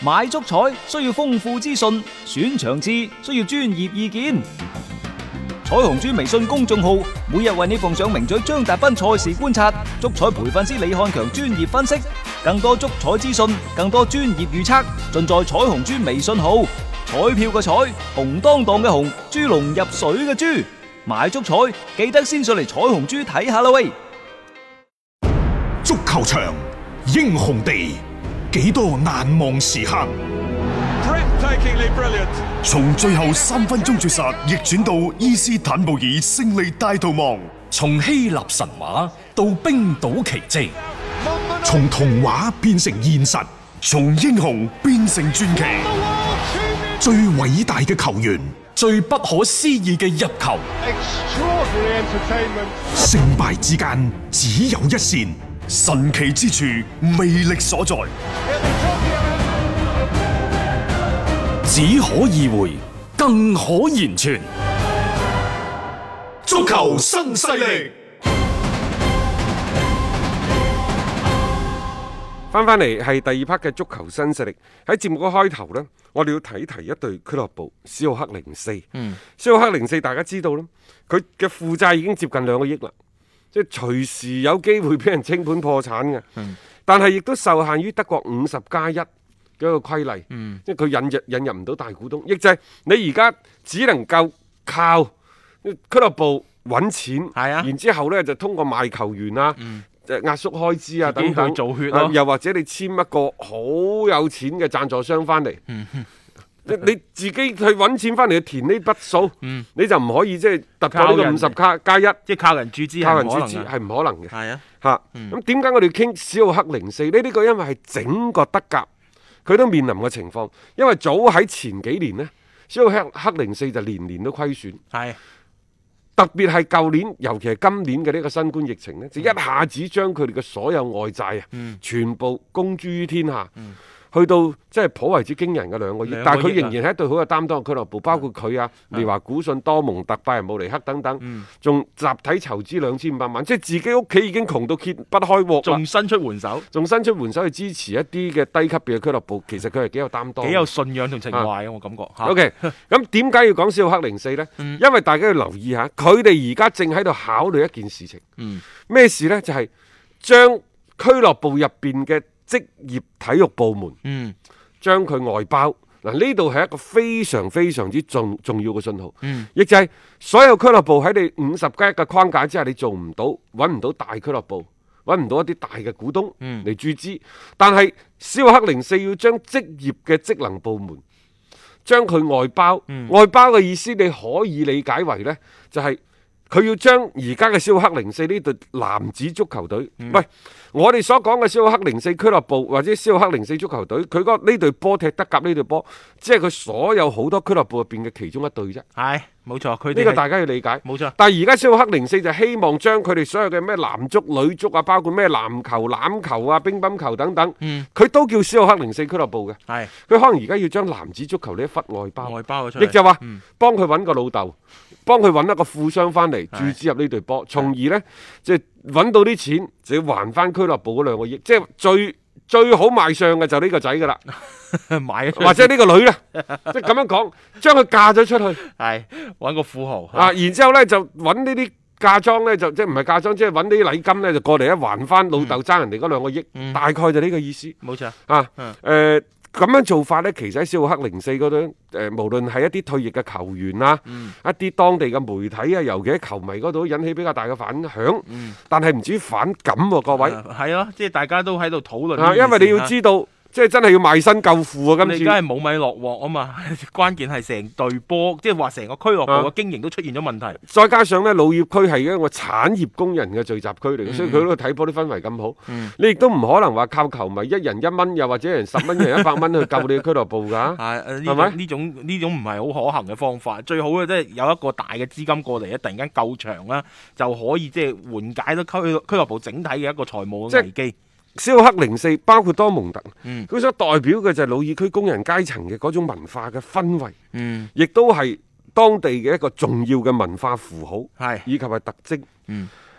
買足彩需要豐富資訊，選場次需要專業意見。彩虹豬微信公眾號每日為你奉上名嘴張達斌賽事觀察、足彩培訓師李漢強專業分析，更多足彩資訊，更多專業預測，盡在彩虹豬微信號。彩票嘅彩，紅當當嘅紅，豬籠入水嘅豬，買足彩記得先上嚟彩虹豬睇下啦喂！ 足球場，英雄地，幾多難忘時刻。從最後3分鐘絕殺逆轉到伊斯坦布爾勝利大逃亡， 從希臘神話到冰島奇蹟， 從童話變成現實，從英雄變成傳奇。最偉大嘅球員， 最不可思議嘅入球， 勝敗之間只有一線，神奇之處魅力所在， 只可意會，更可言傳。 足球新勢力。 翻嚟係第2 part 嘅足球新勢力。喺節目嘅開頭呢，我哋要提一隊俱樂部史浩克04。史浩克04大家知道啦，佢嘅負債已經接近2個億啦，即係隨時有機會俾人清盤破產嘅。但係亦都受限於德國50+1嘅一個規例，即係佢引入唔到大股東，亦就係你而家只能夠靠俱樂部揾錢，然之後呢就通過賣球員啊。壓縮開支啊等等， 做血咯， 又或者你簽一個好有錢嘅贊助商翻嚟，你自己去揾錢翻嚟去填呢筆數，你就唔可以即係突破呢個50+1， 即係靠人注資係唔可能嘅。 係啊， 咁點解我哋傾史浩克04呢？呢個因為係整個德甲佢都面臨嘅情況，因為早喺前幾年呢，史浩克04就年年都虧損。係。特別係舊年，尤其係今年嘅呢個新冠疫情呢，就一下子將佢哋嘅所有外債全部公諸於天下，去到即係頗為之驚人嘅2個億。但係佢仍然係一隊好有擔當嘅俱樂部，包括佢啊、利華古遜、多蒙特、拜仁慕尼黑等等，仲集體籌資2500萬，即係自己屋企已經窮到揭不開鍋， 仲伸出援手，去支持一啲嘅低級別嘅俱樂部。其實佢係幾有擔當，幾有信仰同情懷啊！我感覺。 OK， 咁點解要講史浩克04呢？因為大家要留意下，佢哋而家正喺度考慮一件事情。咩事呢？就係將俱樂部入邊嘅職業體育部門，將佢外包。嗱，呢度係一個非常非常之重要嘅信號，亦就係所有俱樂部喺你50+1嘅框架之下，你做唔到，揾唔到大俱樂部，揾唔到一啲大嘅股東嚟注資。但係史浩克04要將職業嘅職能部門將佢外包，外包嘅意思你可以理解為呢，就係佢要將而家嘅史浩克04呢隊男子足球隊，喂，我哋所講嘅史浩克04俱樂部或者史浩克04足球隊，佢嗰呢隊波踢德甲呢隊波，只係佢所有好多俱樂部入邊嘅其中一隊啫。 係，冇錯，佢呢個大家要理解。 冇錯。 但係而家史浩克04就希望將佢哋所有嘅咩男足、女足啊，包括咩籃球、欖球啊、乒乓球等等，佢都叫史浩克04俱樂部嘅。係。佢可能而家要將男子足球呢一忽外包咗出嚟，亦就話幫佢揾個老豆，幫佢揾一個富商翻嚟注資入呢隊波，從而呢，即係揾到啲錢就要還翻俱樂部嗰2個億，即係最好賣相嘅就呢個仔噶啦，或者呢個女啦，即係咁樣講，將佢嫁咗出去， 係揾個富豪啊，然之後呢就揾呢啲嫁妝呢，就即係唔係嫁妝，即係揾啲禮金呢，就過嚟一還翻老豆爭人哋嗰2個億，大概就呢個意思。 冇錯啊，咁樣做法呢，其實喺史浩克04嗰度，無論係一啲退役嘅球員啊，一啲當地嘅媒體啊，尤其喺球迷嗰度引起比較大嘅反響，但係唔至於反感喎，各位。 係咯，即係大家都喺度討論。 因為你要知道。即係真係要賣身救父啊！今次你而家係冇米落鑊啊嘛，關鍵係成隊波，即係話成個俱樂部嘅經營都出現咗問題。 再加上呢，老業區係一個產業工人嘅聚集區嚟嘅，所以佢嗰度睇波啲氛圍咁好。你亦都唔可能話靠球迷1人1蚊，又或者1人10蚊、1人100蚊去救你嘅俱樂部㗎。係咪？呢種唔係好可行嘅方法。最好嘅即係有一個大嘅資金過嚟咧，突然間救場啦，就可以即係緩解到俱樂部整體嘅一個財務嘅危機。 史浩克04包括多蒙特，佢所代表嘅就係魯爾區工人階層嘅嗰種文化嘅氛圍，亦都係當地嘅一個重要嘅文化符號，以及係特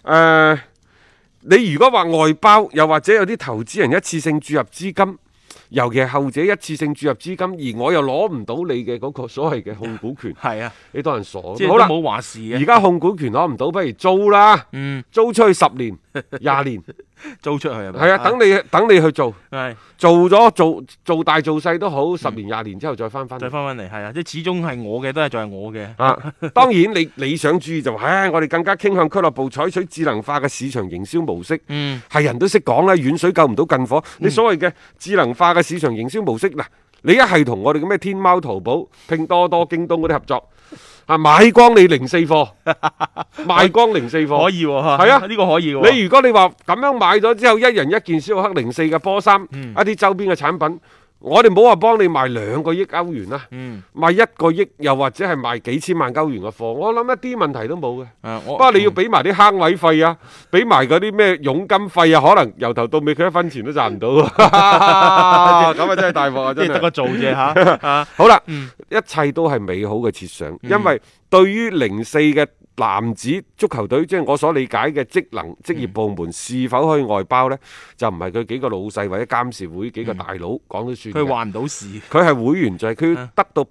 徵。你如果話外包，又或者有啲投資人一次性注入資金， 尤其係後者一次性注入資金，而我又攞唔到你嘅嗰個所謂嘅控股權， 係啊， 你當人傻。 即係好啦， 都冇話事嘅。 而家控股權攞唔到，不如租啦，租出去10年、20年， 租出去係咪？ 係啊，等你去做， 係做咗做大做細都好，10年、20年之後再翻再翻嚟，係啊，即係始終係我嘅，都係仲係我嘅。 啊，當然你理想主義就話，我哋更加傾向俱樂部採取智能化嘅市場營銷模式。係人都識講啦，遠水救唔到近火。你所謂嘅智能化嘅市場營銷模式，嗱，你一係同我哋嘅咩天貓、淘寶、拼多多、京東嗰啲合作，買光你零四貨，賣光零四貨， 可以喎， 係啊， 呢個可以喎。 你如果你話咁樣買咗之後，一人一件肖克04嘅波衫，一啲周邊嘅產品。我哋冇話幫你賣2個億歐元啦，賣1個億又或者係賣幾千萬歐元嘅貨，我諗一啲問題都冇嘅。不過你要俾埋啲坑位費啊，俾埋嗰啲咩佣金費啊，可能由頭到尾佢1分錢都賺唔到。咁啊真係大鑊啊！真係得個做啫嚇。 好啦，一切都係美好嘅設想，因為對於04嘅男子足球隊，即係我所理解嘅職業部門是否可以外包呢？就唔係佢幾個老細或者監事會幾個大佬講都算。 佢話唔到事， 佢係會員制，佢要得到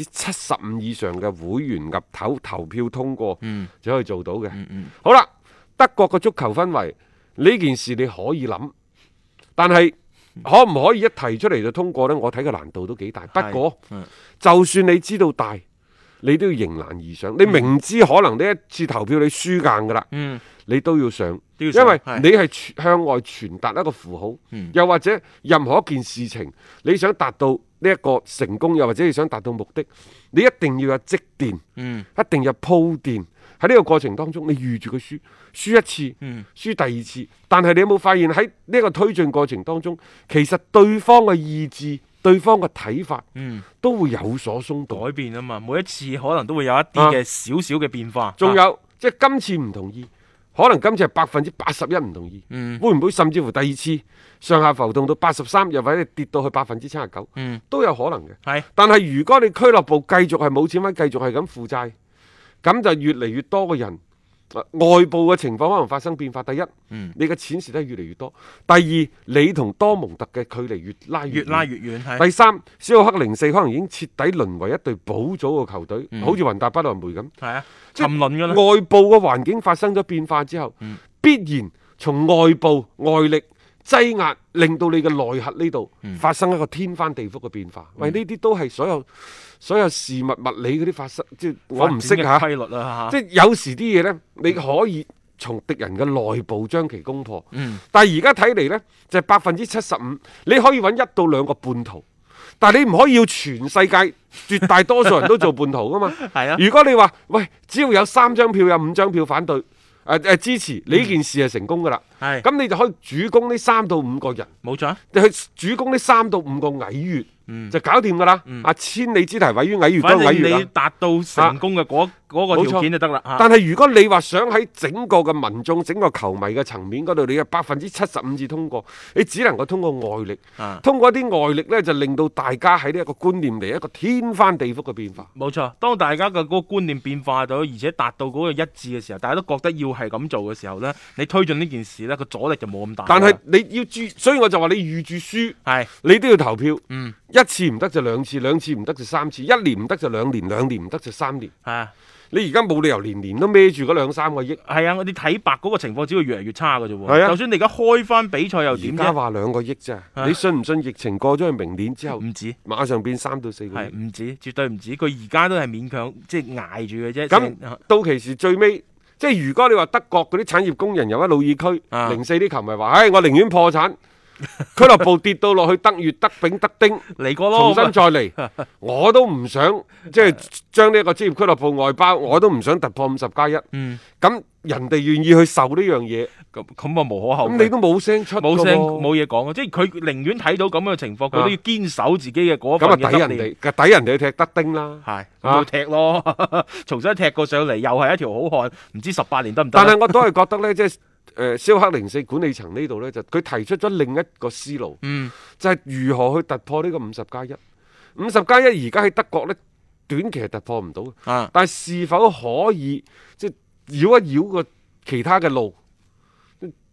75%以上嘅會員入投票通過，就可以做到嘅。好啦，德國嘅足球氛圍呢件事你可以諗，但係可唔可以一提出嚟就通過呢？我睇個難度都幾大。不過就算你知道大，你都要迎難而上。你明知可能呢一次投票你輸硬㗎啦，你都要上，因為你係向外傳達一個符號，又或者任何一件事情你想達到呢一個成功，又或者你想達到目的，你一定要有積澱，一定要有鋪墊。喺呢個過程當中，你預住佢輸一次，輸第二次，但係你有冇發現喺呢個推進過程當中，其實對方嘅意志、對方嘅睇法，都會有所鬆動、 改變啊嘛。每一次可能都會有一啲嘅少少嘅變化。 仲有即係今次唔同意，可能今次係81%唔同意，會唔會甚至乎第二次上下浮動到83%，又或者跌到去79%，都有可能嘅。但係如果你俱樂部繼續係冇錢揾，繼續係咁負債，咁就越嚟越多嘅人，外部嘅情況可能發生變化。第一，你嘅錢蝕得越嚟越多；第二，你同多蒙特嘅距離越拉越遠。第三，肖克04可能已經徹底淪為一隊保組嘅球隊，好似雲達不萊梅咁。 係啊，沉淪㗎啦。 外部嘅環境發生咗變化之後，必然從外部外力擠壓，令到你嘅內核呢度發生一個天翻地覆嘅變化。喂，呢啲都係所有事物物理嗰啲發生，即係我唔識嚇。規律啊，即係有時啲嘢呢，你可以從敵人嘅內部將其攻破。但係而家睇嚟呢，就係75%，你可以揾1到2個叛徒，但係你唔可以要全世界絕大多數人都做叛徒噶嘛。係啊，如果你話喂，只要有3張票，有5張票反對。支持你呢件事係成功噶啦，咁你就可以主攻呢3到5個人，冇錯，你去主攻呢3到5個蟻穴，就搞掂噶啦。千里之堤毀於蟻穴，嗰個蟻穴啦。反正你達到成功嘅嗰個條件就得啦。但係如果你話想喺整個嘅民眾、整個球迷嘅層面嗰度，你有75%至通過，你只能夠通過外力，通過一啲外力呢，就令到大家喺呢一個觀念嚟一個天翻地覆嘅變化。冇錯，當大家嘅嗰個觀念變化到，而且達到嗰個一致嘅時候，大家都覺得要係咁做嘅時候呢，你推進呢件事呢，個阻力就冇咁大。但係你要注，所以我就話你預住輸，你都要投票。一次唔得就2次，2次唔得就3次，1年唔得就2年，2年唔得就3年。你而家冇理由年年都孭住嗰2-3個億。係啊，我哋睇白嗰個情況只會越嚟越差嘅啫喎。係啊，就算你而家開翻比賽又點啫？而家話2個億啫，你信唔信疫情過咗去明年之後唔止，馬上變3到4個億？係唔止，絕對唔止。佢而家都係勉強即係捱住嘅啫。咁到期時最尾，即係如果你話德國嗰啲產業工人又喺魯爾區04啲球迷話，我寧願破產。俱樂部跌到落去德乙、德丙、德丁嚟過咯，重新再嚟，我都唔想即係將呢一個職業俱樂部外包，我都唔想突破50+1。咁人哋願意去受呢樣嘢，咁啊無可厚非。咁你都冇聲出，冇聲冇嘢講，即係佢寧願睇到咁嘅情況，佢都要堅守自己嘅嗰份嘅執念。咁啊抵人哋去踢德丁啦，係咁去踢咯，重新踢過上嚟，又係一條好漢，唔知18年得唔得？但係我都係覺得咧，即係。肖克04管理層呢度呢，就佢提出咗另一個思路，就係如何去突破呢個50+1。50+1而家喺德國呢，短期係突破唔到，但係是否可以即係繞一繞個其他嘅路，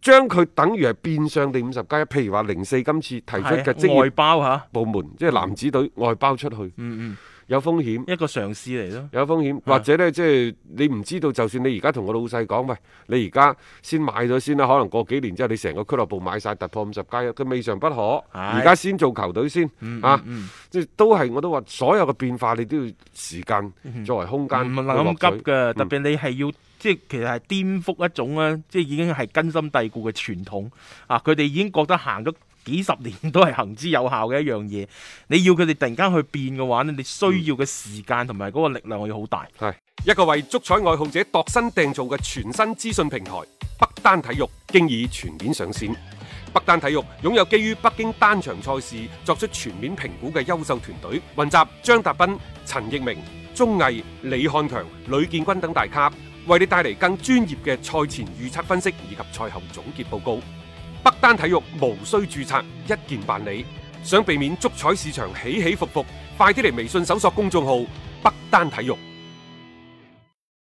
將佢等於係變相地50+1，譬如話04今次提出嘅職業外包嚇， 部門，即係男子隊外包出去，有風險， 一個嘗試嚟咯。 有風險，或者呢，即係你唔知道，就算你而家同個老細講，喂，你而家先買咗先啦，可能過幾年之後，你成個俱樂部買晒突破50+1，佢未嘗不可。而家先做球隊先，即係我都話，所有嘅變化你都要時間作為空間， 唔能咁急嘅，特別你係要。即係其實係顛覆一種咧，即係已經係根深蒂固嘅傳統啊！佢哋已經覺得行咗幾十年都係行之有效嘅一樣嘢。你要佢哋突然間去變嘅話咧，你需要嘅時間同埋嗰個力量要好大。 係一個為足彩愛好者度身訂造嘅全新資訊平台北單體育，經已全面上線。北單體育擁有基於北京單場賽事作出全面評估嘅優秀團隊，雲集張達斌、陳奕明、鐘毅、李漢強、呂建軍等大咖，為你帶嚟更專業嘅賽前預測分析以及賽後總結報告。北單體育無需註冊，一鍵辦理。想避免足彩市場起起伏伏，快啲嚟微信搜索公眾號北單體育。